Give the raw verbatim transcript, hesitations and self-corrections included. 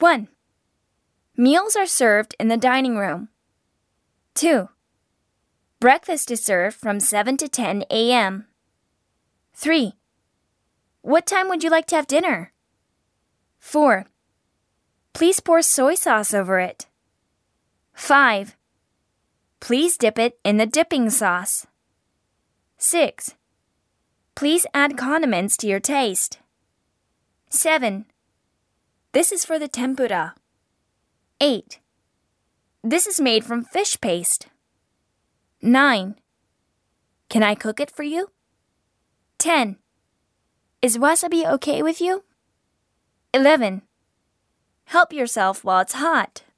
one. Meals are served in the dining room. two. Breakfast is served from seven to ten a m three. What time would you like to have dinner? four. Please pour soy sauce over it. five. Please dip it in the dipping sauce. six. Please add condiments to your taste. seven. This is for the tempura. eight. This is made from fish paste. nine. Can I cook it for you? ten. Is wasabi okay with you? eleven. Help yourself while it's hot.